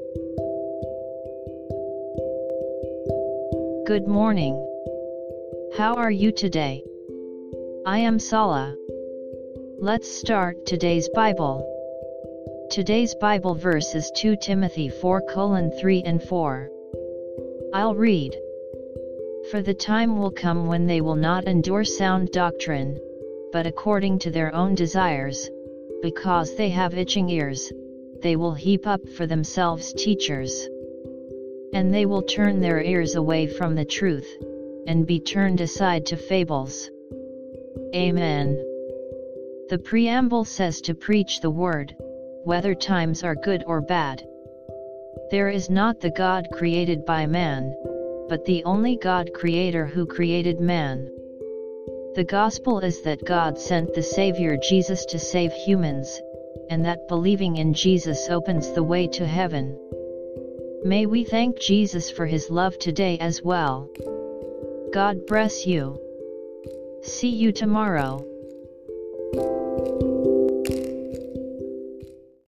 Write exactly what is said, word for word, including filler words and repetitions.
Good morning. How are you today? I am Sala. Let's start today's Bible. Today's Bible verse is Second Timothy four colon three and four. I'll read. For the time will come when they will not endure sound doctrine, but according to their own desires, because they have itching ears, they will heap up for themselves teachers. And they will turn their ears away from the truth, and be turned aside to fables. Amen. The preamble says to preach the word, whether times are good or bad. There is not the God created by man, but the only God creator who created man. The gospel is that God sent the Savior Jesus to save humans, and that believing in Jesus opens the way to heaven. May we thank Jesus for his love today as well. God bless you. See you tomorrow.